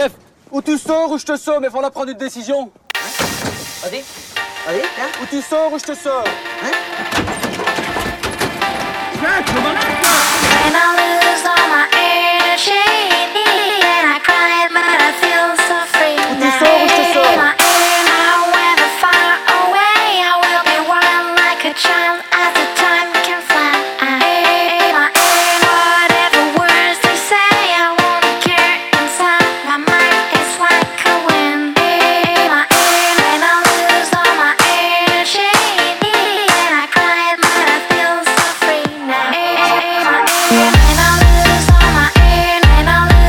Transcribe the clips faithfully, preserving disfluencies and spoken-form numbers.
Chef, ou tu sors ou je te sors, mais il faudra prendre une décision. Vas-y, vas-y, tiens. Ou tu sors ou je te sors. Hein? And I lose all my energy, and I cry, but I feel so free Ou tu now. sors ou je te sors. My inner weather far away, I will be wild like a child as the time can fly. My whatever words they say, I won't care inside. My mind is like a wind. My and I lose all my energy, and I cry, but I feel so free now. And I lose all my and I lose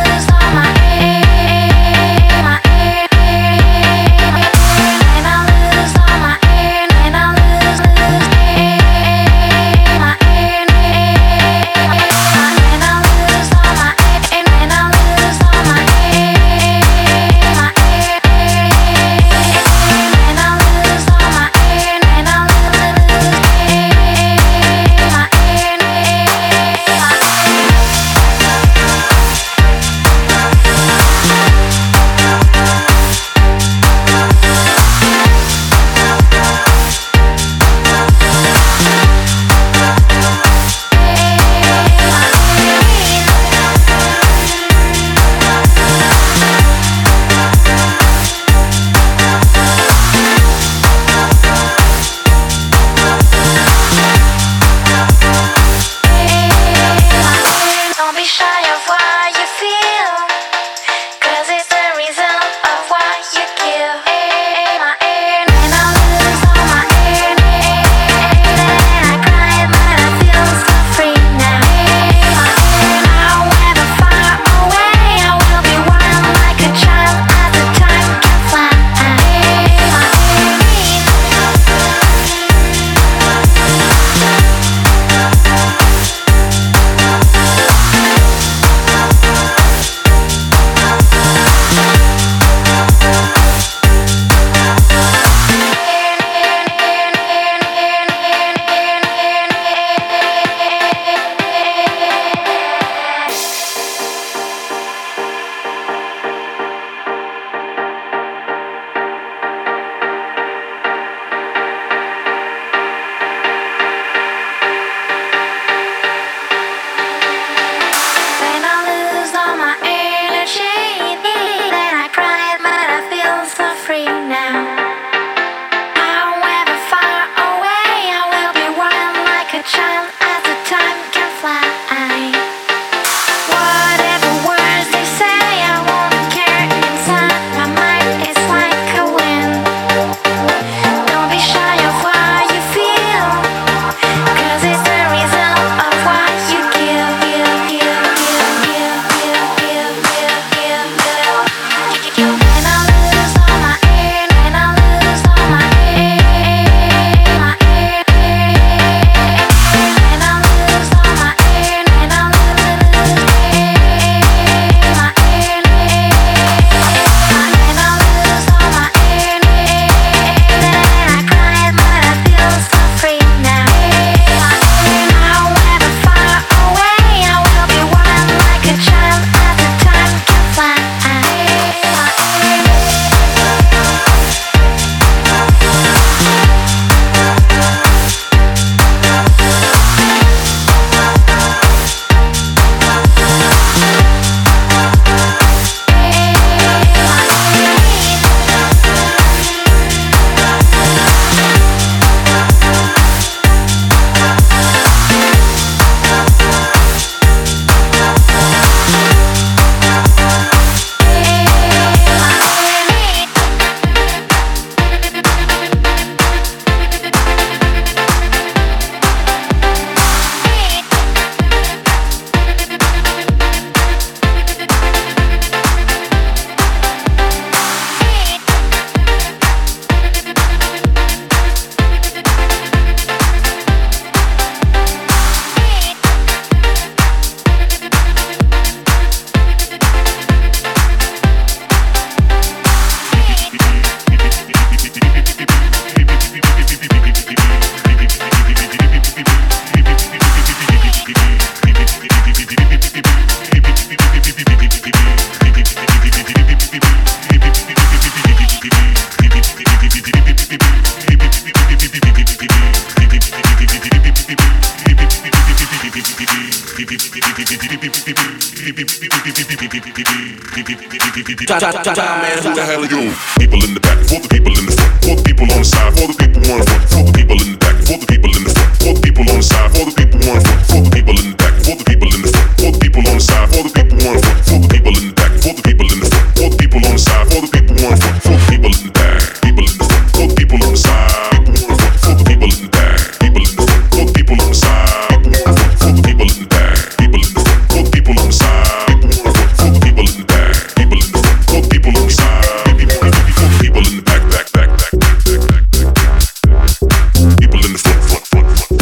Man, who the hell are you? People in the back, for the people in the front, for the people on the side, for the people on the front, for the people in the back, for the people in the front, for the people on the side, for the people on the front, for the people in the back, for the people in the front, for the people on the side, for the people on the front, for the people in the back, for the people in the front, for the people on the side, for the people on the front, for the people in the back, people in the front, for the people on the side, for the people in the back, people in the front, for the people on the side, for the people in the back, people in the front, for the people on the side, for the people in the back, people in the front, for the people on the side, people in the back, back, back, back, back, back, back, people in the front, front, front, front,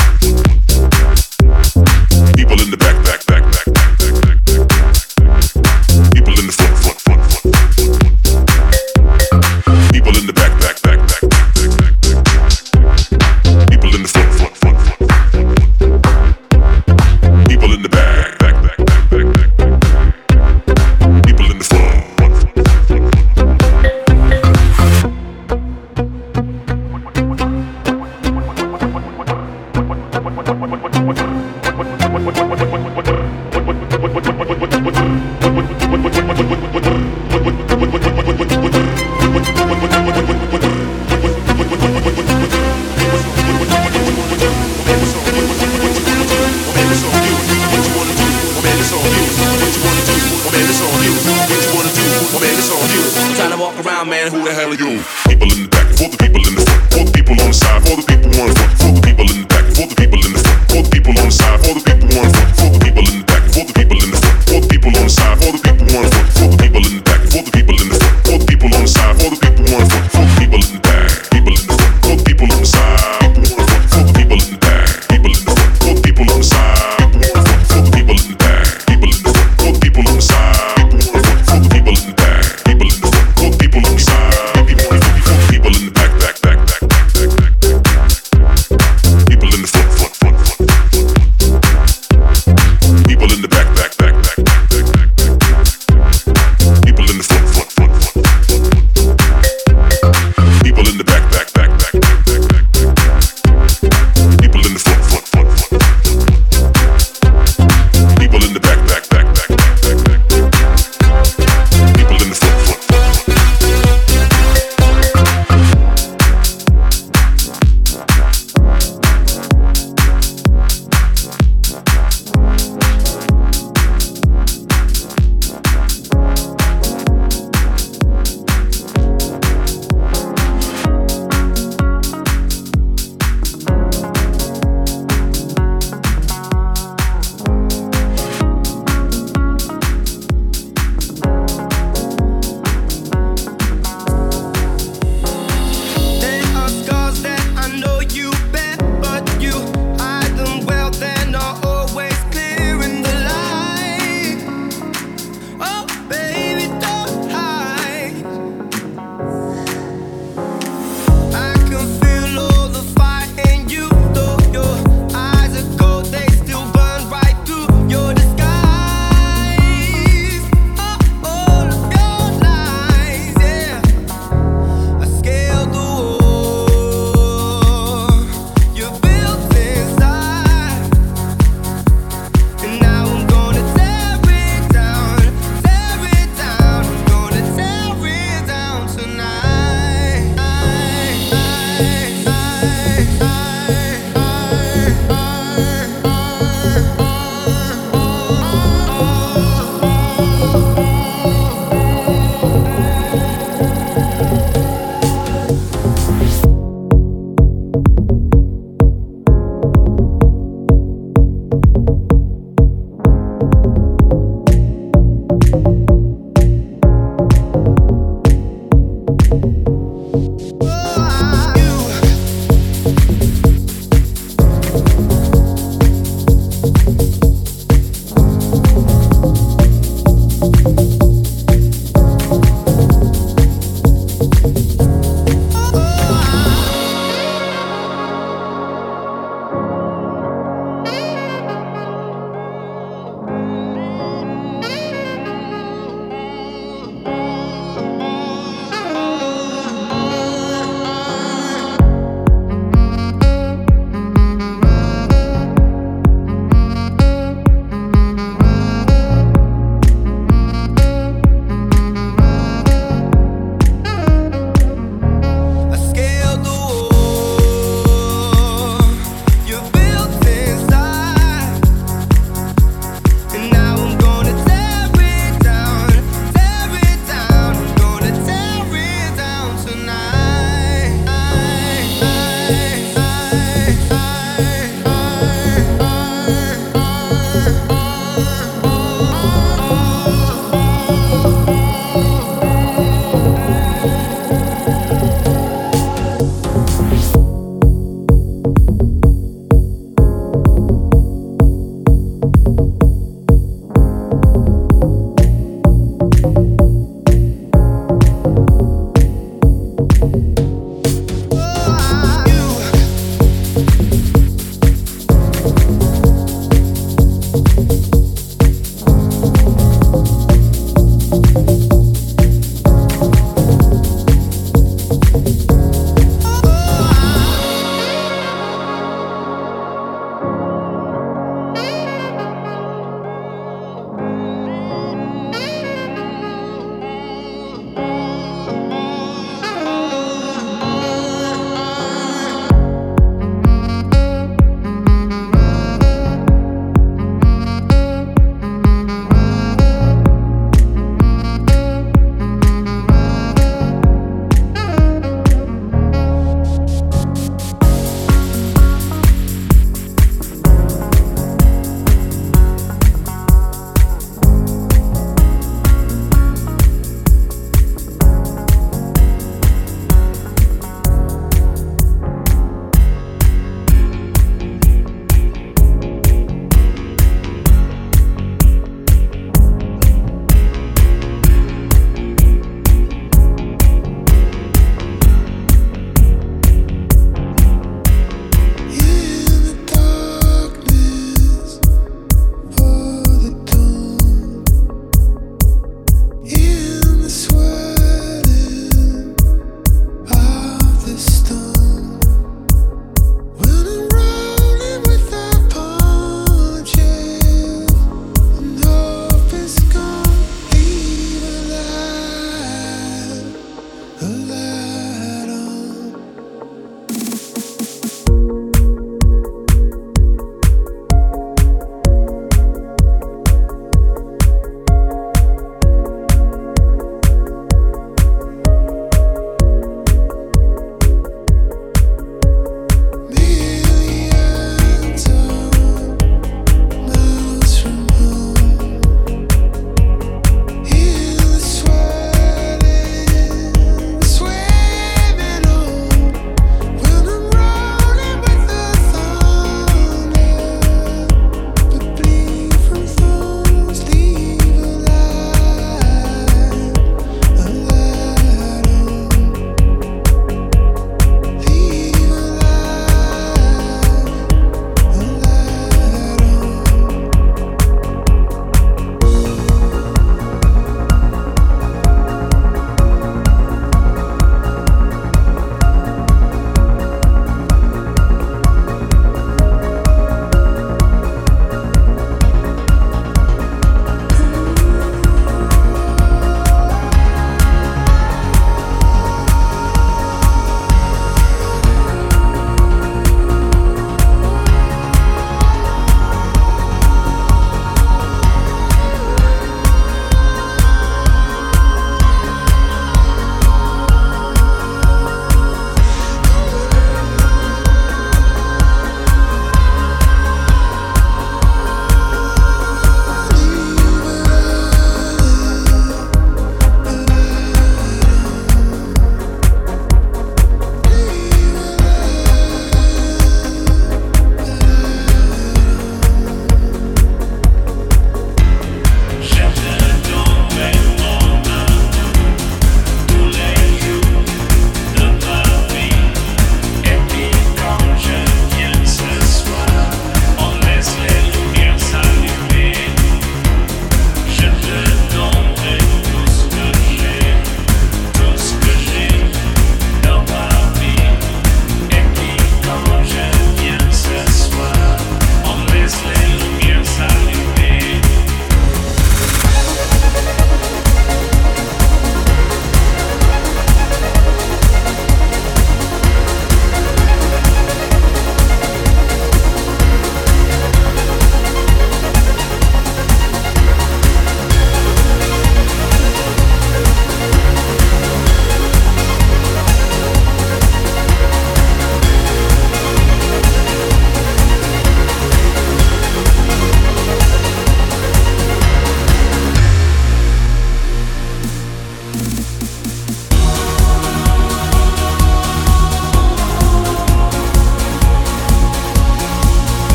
people in the back, back, back, back, back, back, back, people in the front, front, front, front, people in the back, back, back, back, back, back, people in the front, front, front, front, people in the back, back, back, back, back, back, people in the front. Man, who the hell are you? People in the back, for the people in the front, for the people on the side, for the people on the front, for the people in the back, for the people in the front, for the people on the side, for the people on the front, for the people in the back, for the people in the front, for the people on the side, for the people on the front, for the people in the back, for the people in the front, for the people on the side, for the people on the front, for the people in the back, people in the front, for the people on the side, for the people in the back, people in the front, for the people on the side, for the people in the back, people in the front, for the people on the side, for the people in the back, people in the front, for the people on the side. People in the back, back, back, back, back, back, back, back, back.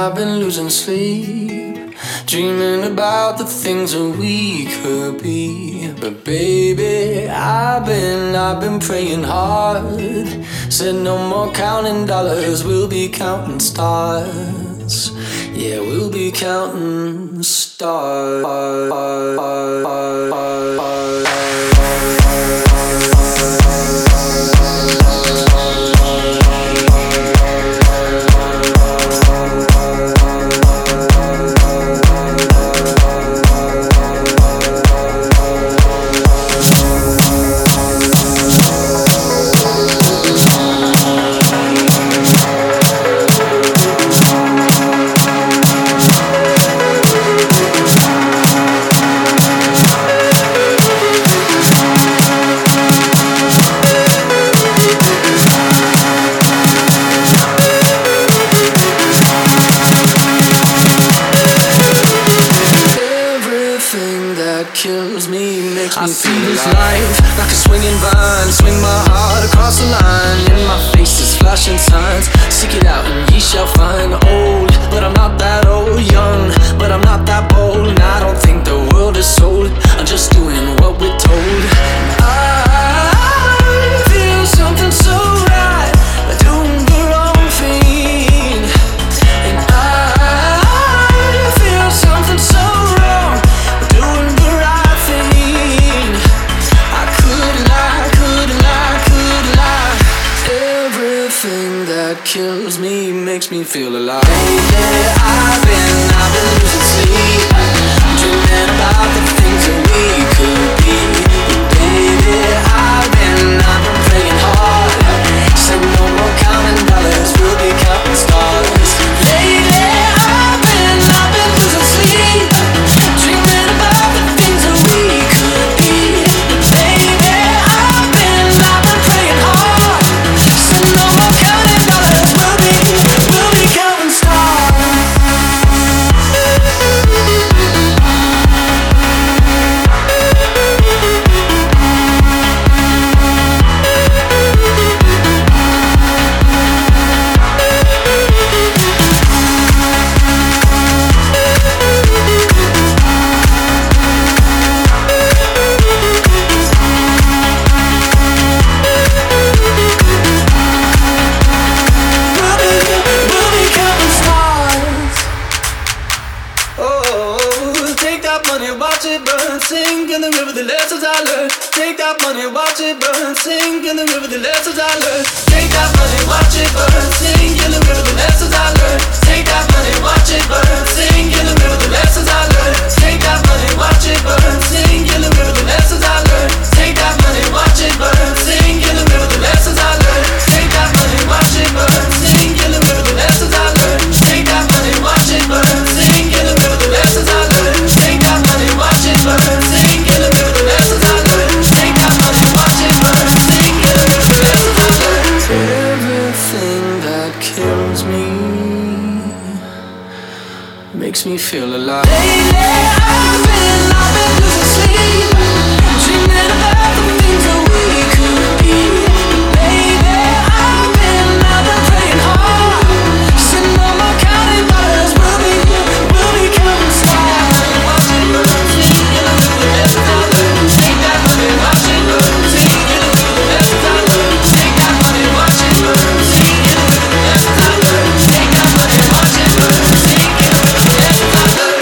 I've been losing sleep, dreaming about the things that we could be. But baby, I've been, I've been praying hard. Said no more counting dollars, we'll be counting stars. Yeah, we'll be counting stars. I see this life like a swinging vine. Swing my heart across the line. In my face is flashing signs. Seek it out and ye shall find. Old, but I'm not that old. Young, but I'm not that bold. And I don't think the world is sold. I'm just doing what we're told. I feel something so right, doing the wrong thing. And I feel something so wrong, doing the right thing. I couldn't lie, couldn't lie, couldn't lie. Everything that kills me makes me feel alive. Lately I've been, I've been losing sleep, dreaming about the things that we could be. Baby, I've been, I've been praying hard. Said no more counting dollars, we'll be counting stars. Lately I've been, I've been losing sleep, dreaming about the things that we could be. Baby, I've been, I've been praying hard. Said no more counting dollars, we'll be, we'll be counting stars. We'll be, we'll be counting stars. Oh, take that money, watch it burn, sink in the river, the lessons I learned. Take that money, watch it burn, sink in the river, the lessons I learned. Take that money, watch it burn, sink in the river, the lessons I learned. Take that money, watch it burn, sink in the river, the lessons I learned. Take that money, watch it burn, sink in the river, the lessons I learned. Take that money, watch it burn, sink in the river, the lessons I learned. Take that money, watch it burn, sink in the river, the lessons I learned. Take that money, watch it burn, sink in the river, the lessons I learned. Take that money, watch it burn, sink in the river, the lessons I learned. Take that money, watch it burn, sink in the river, the lessons I learned. Everything that kills me makes me feel alive. Lately I've been, I've been losing sleep, dreaming about the things that we could be. Baby, I've been, I've been praying hard. Said no more counting dollars, we'll be, we'll be counting stars. Watch it burn, sink in the river, the lessons I learned. Take that money, watch it burn, sink in the river, the lessons I learned. Take that money, watch it burn, sink in the river, the lessons I learned. Take that money, watch it burn, sink in the river, the lessons I learned.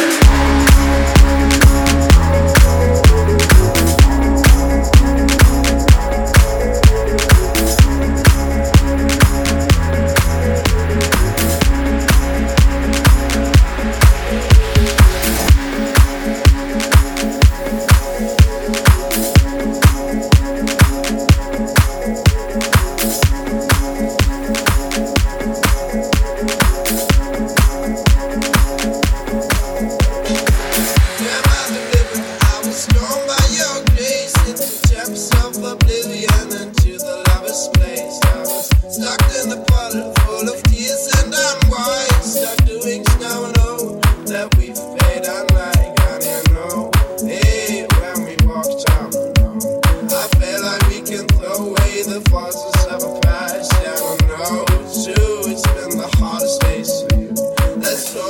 Let's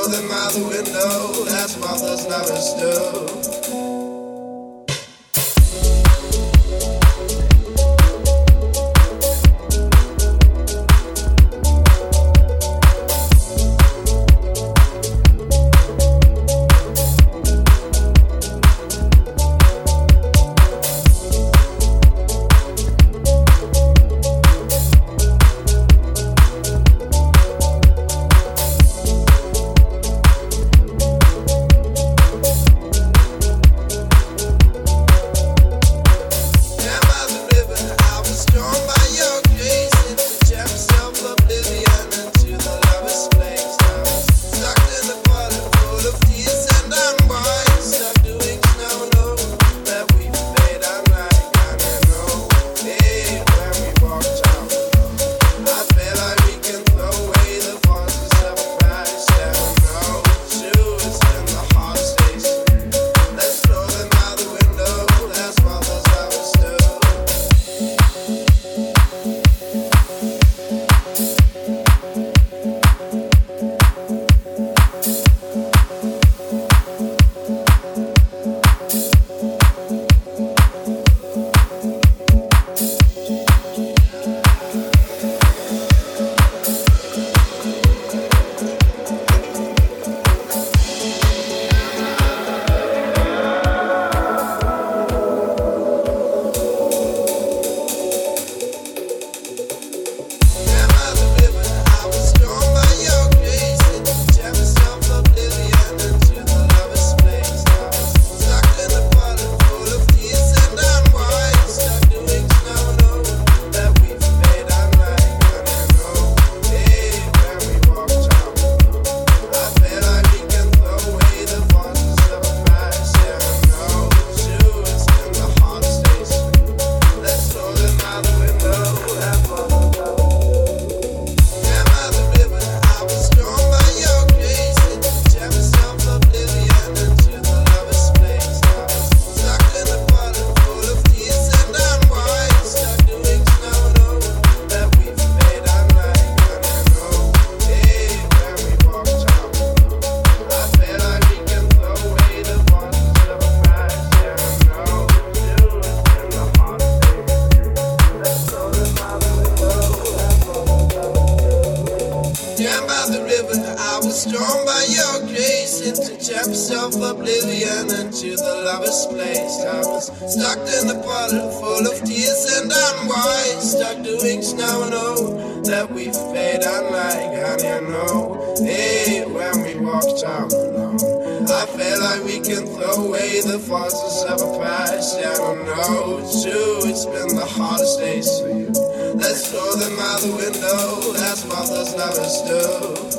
into Japanese self-oblivion, into the lover's place. I was stuck in the bottle full of tears and unwise, stuck doing snow and oh, that we've paid unlike, and you know, hey, when we walked out alone, I feel like we can throw away the forces of a past. Yeah, I don't know, it's true, it's been the hardest days for you. Let's throw them out the window, that's what those lovers do.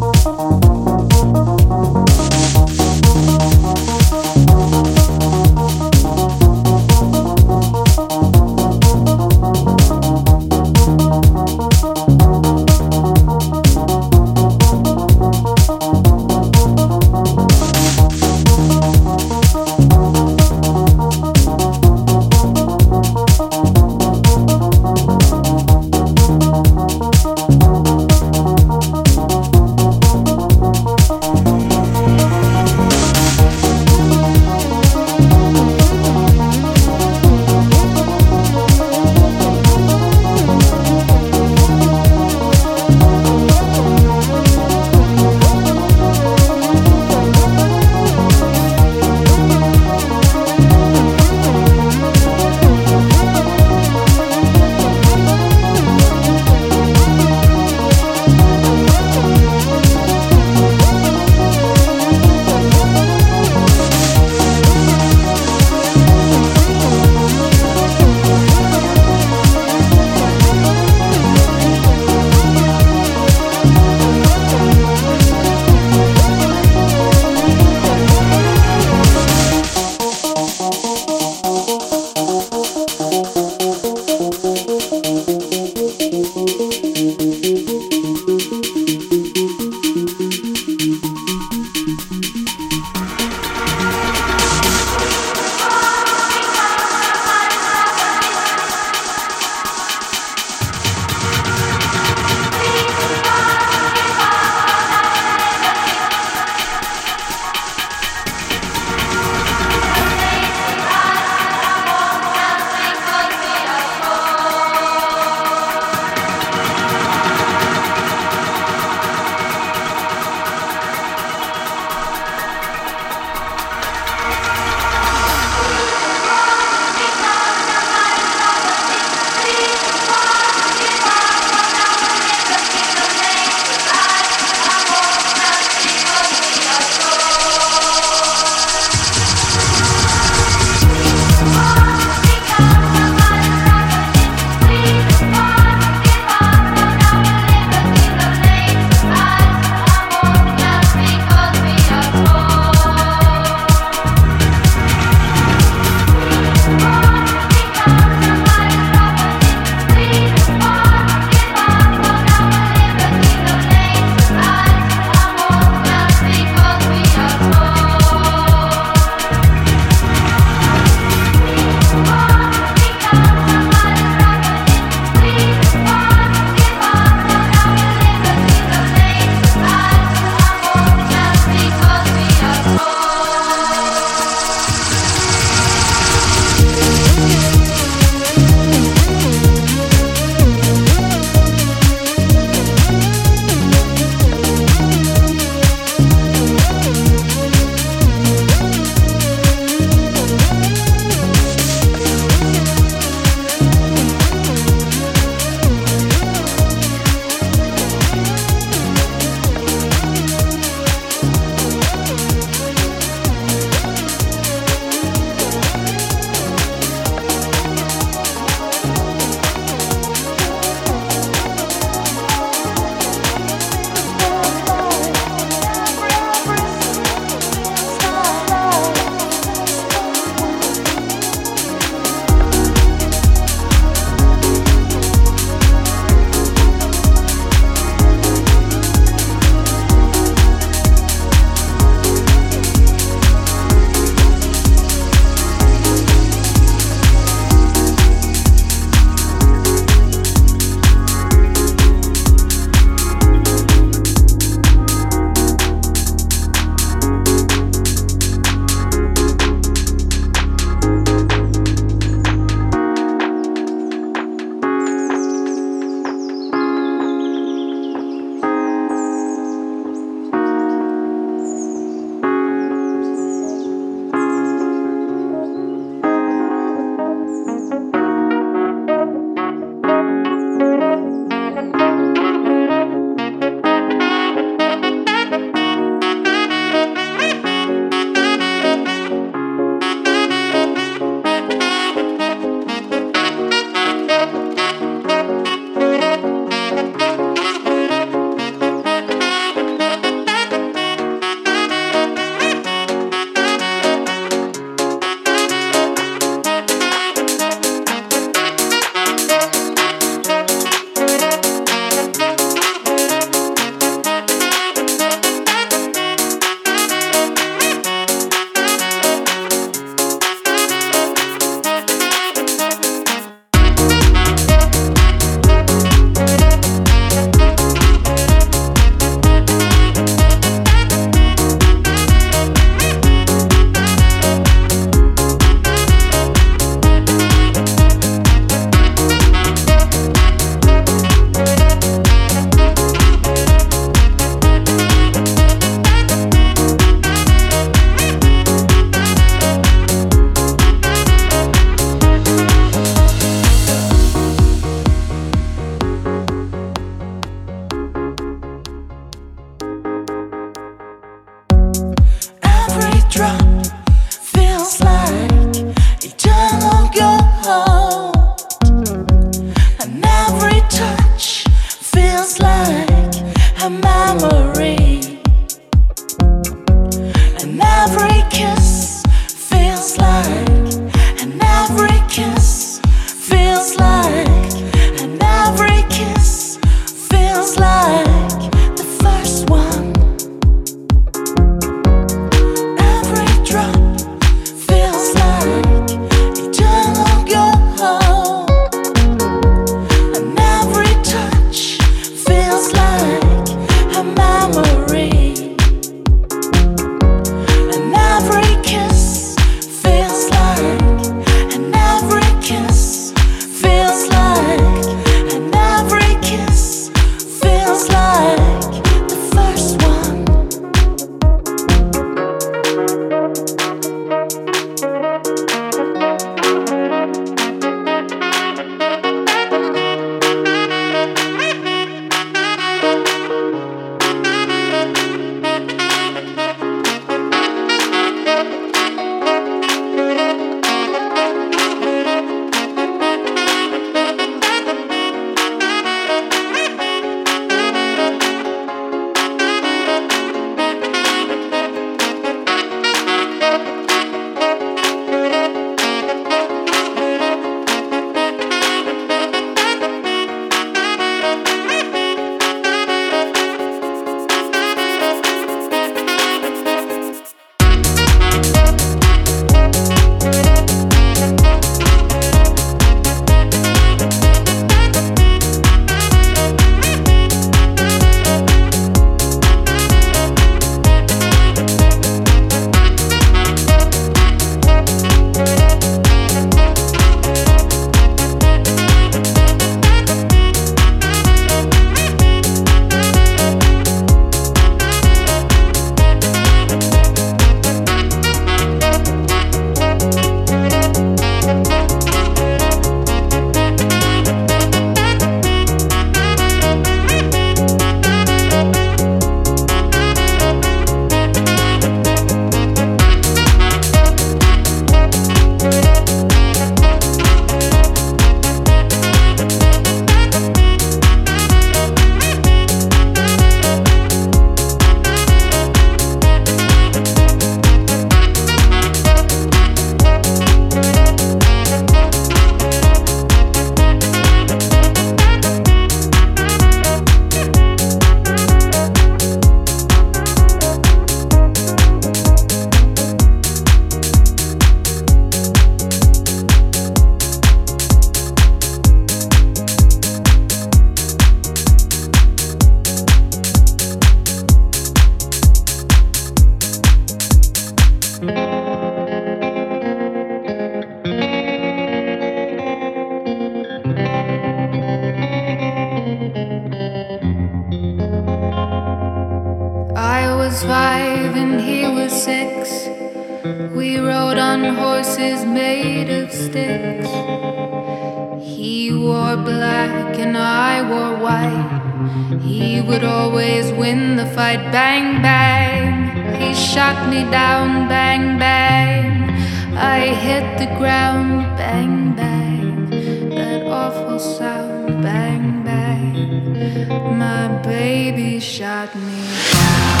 was five and he was six. We rode on horses made of sticks. He wore black and I wore white. He would always win the fight. Bang, bang. He shot me down. Bang, bang. I hit the ground. Bang, bang. That awful sound. Bang, bang. My baby shot me down.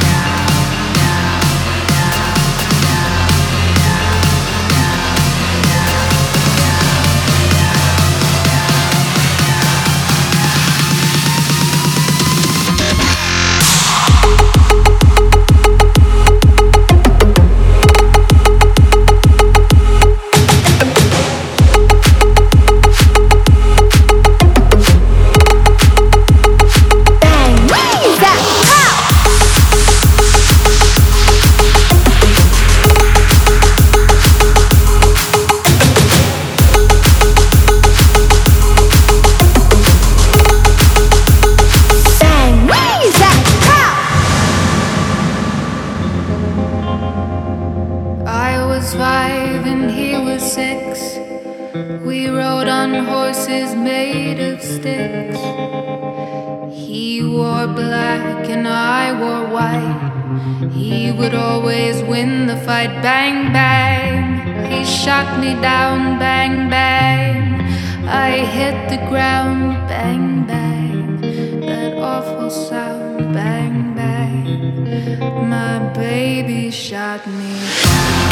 Five and he was six. We rode on horses made of sticks. He wore black and I wore white. He would always win the fight. Bang, bang. He shot me down. Bang, bang. I hit the ground. Bang, bang. That awful sound. Bang, bang. My baby shot me down.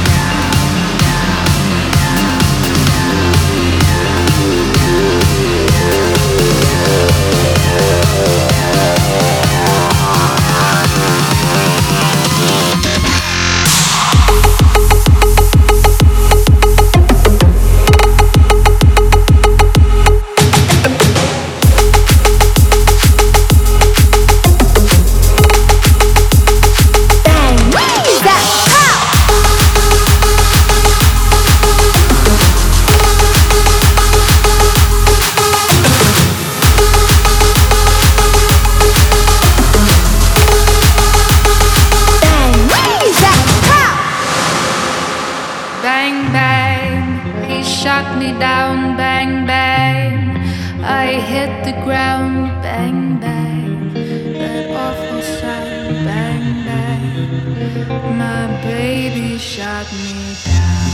Shot me down, bang, bang. I hit the ground, bang, bang. That awful sound, bang, bang. My baby shot me down.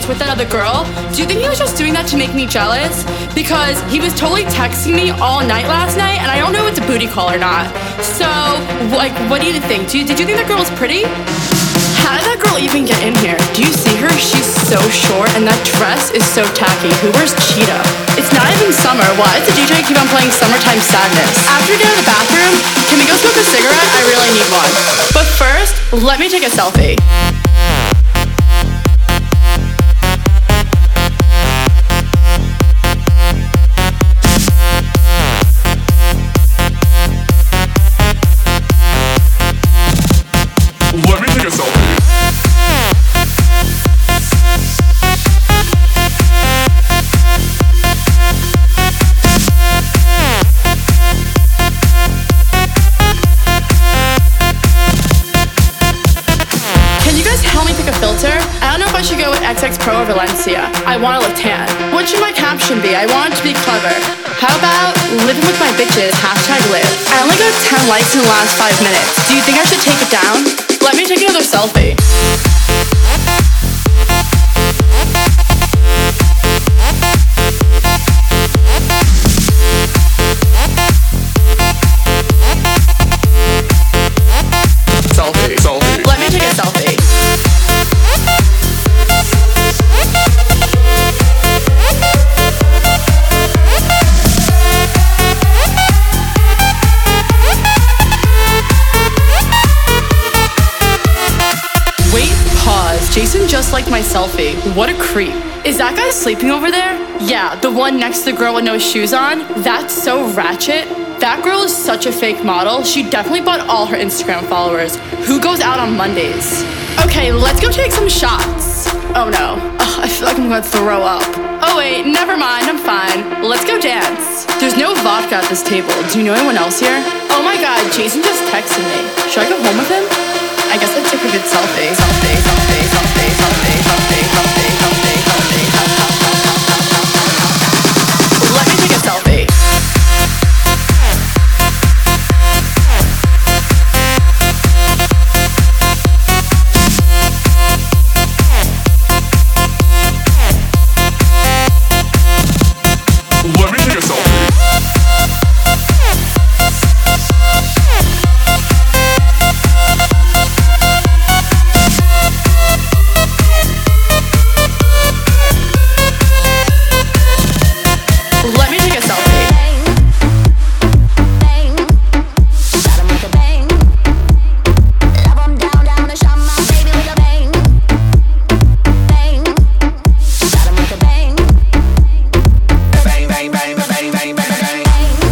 with that other girl, do you think he was just doing that to make me jealous? Because he was totally texting me all night last night, and I don't know if it's a booty call or not. So, like, what do you think? Do you, did you think that girl was pretty? How did that girl even get in here? Do you see her? She's so short, and that dress is so tacky. Who wears cheetah? It's not even summer. Why does the D J keep on playing Summertime Sadness? After we get out of the bathroom, can we go smoke a cigarette? I really need one. But first, let me take a selfie. Let me take a selfie. Can you guys help me pick a filter? I don't know if I should go with X X Pro or Valencia. I want to look tan. What should my caption be? I want it to be clever. How about living with my bitches, hashtag live. I only got ten likes in the last five minutes. Do you think I should take it down? Let me take another selfie. Selfie, selfie. Let me take a selfie. Wait, pause. Jason just liked my selfie. What a creep. Is that guy sleeping over there? Yeah, the one next to the girl with no shoes on. That's so ratchet. That girl is such a fake model. She definitely bought all her Instagram followers. Who goes out on Mondays? Okay, let's go take some shots. Oh no. Ugh, I feel like I'm gonna throw up. Oh wait, never mind, I'm fine. Let's go dance. There's no vodka at this table. Do you know anyone else here? Oh my god, Jason just texted me. Should I go home with him? I guess I took a good selfie. Selfie, selfie, selfie, selfie, selfie, selfie, selfie, selfie. Let me take a selfie. Let me take a selfie. Let me take a selfie. Bang, bang, bang, bang, bang, bang, bang.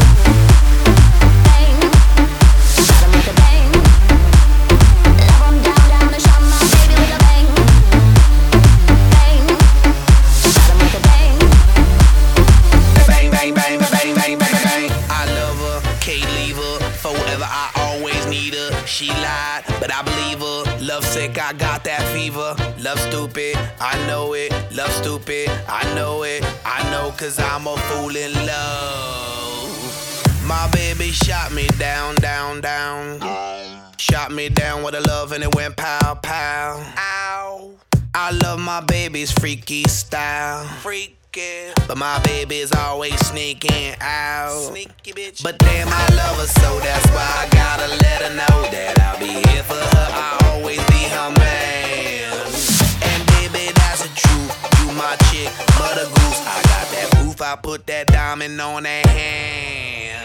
Bang, bang, bang, bang, bang, bang, bang. I love her, can't leave her. Forever, I always need her. She lied, but I believe her. Love sick, I got that fever. Love stupid, I know it. Love stupid, I know it. I know, cause I'm a fool in love. My baby shot me down, down, down. Shot me down with a love and it went pow, pow. Ow. I love my baby's freaky style. Freaky. But my baby's always sneaking out. Sneaky bitch. But damn, I love her so that's why I gotta let her know that I'll be here for her. I'll always be her man. And baby, that's the truth. You my chick, mother goose. I got that proof. I put that diamond on that hand.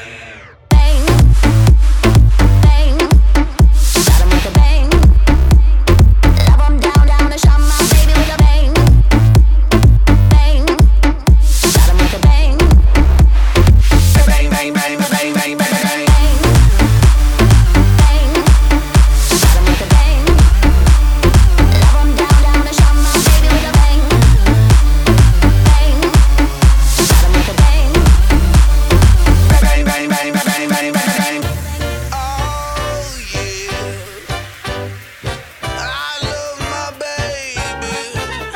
Bang, bang, bang, bang, bang, bang, bang. Bang, bang, bang, bang, bang, bang, bang. Oh yeah, I love my baby.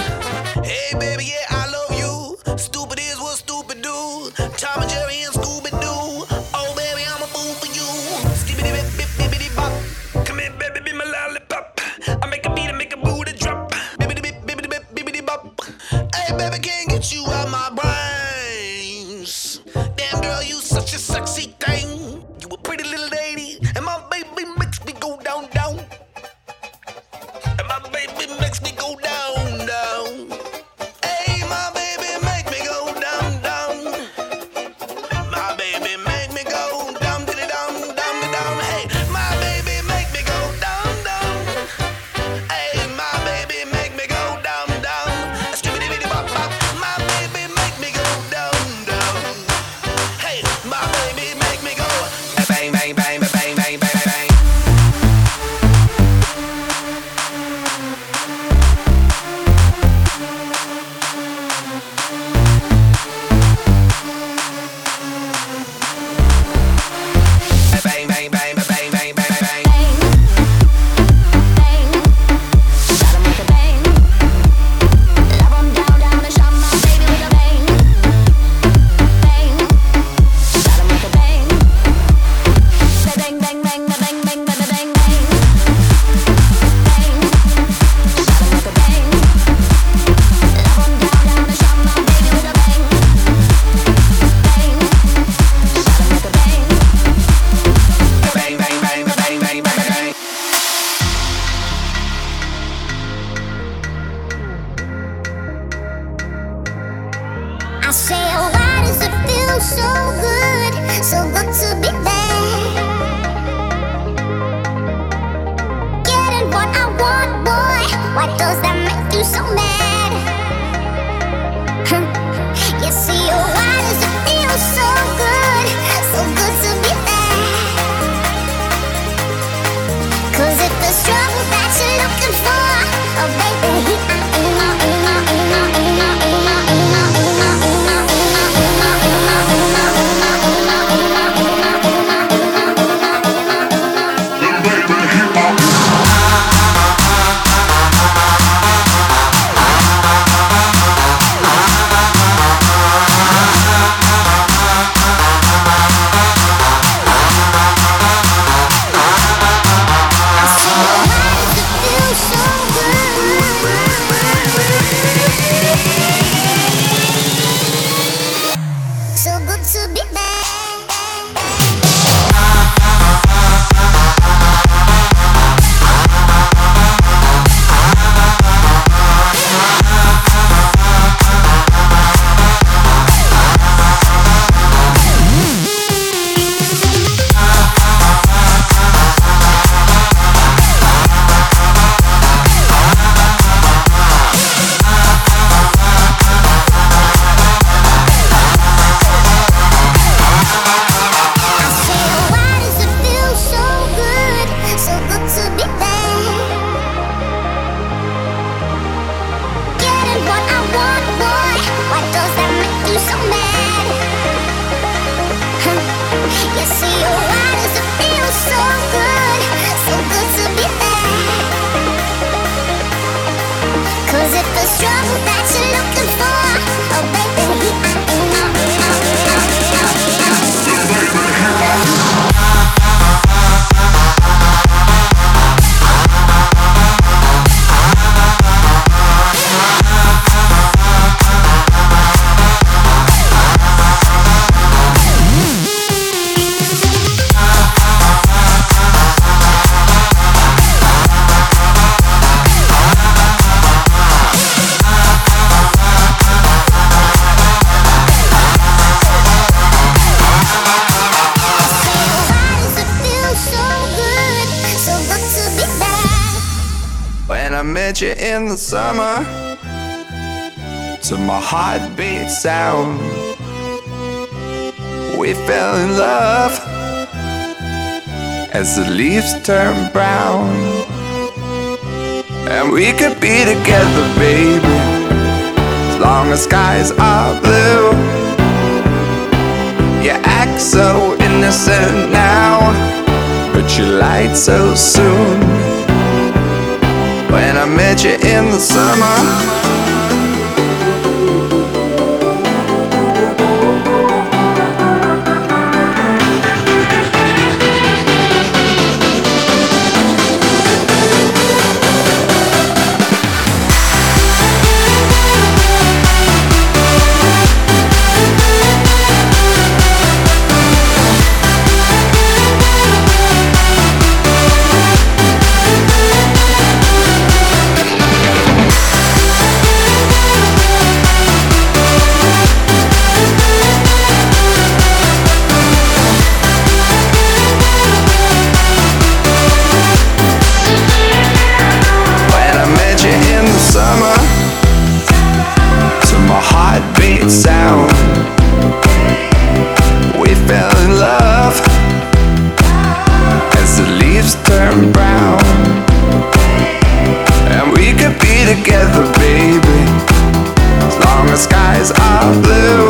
you out my brains. Damn girl, you such a sexy thing. You a pretty little lady, and my baby makes me go down, down. And my baby makes me go down, down. Hey, my baby make me go down, down. My baby make me go down, diddy down, down, down. Hey, my baby make me go down, down. Hey, my baby make me go down, down. Skibbity bitty bop bop. My baby make me go down, down. Hey, my baby make me go bang, bang, bang, bang, bang, bang, bang, bang. Bang, bang, bang, bang, bang, bang, bang, bang. Bang, bang, bang, bang, bang, bang, bang. I say, oh, why does it feel so good, so good to be there? Getting what I want, boy, why does that make you so mad? You see, oh, why does it feel so good, so good to be there? 'Cause if there's trouble that you're looking for, oh, baby, so good to be back. I met you in the summer, to my heartbeat sound. We fell in love as the leaves turn brown. And we could be together, baby, as long as skies are blue. You act so innocent now, but you lied so soon. When I met you in the summer, down. We fell in love as the leaves turn brown. And we could be together, baby, as long as skies are blue.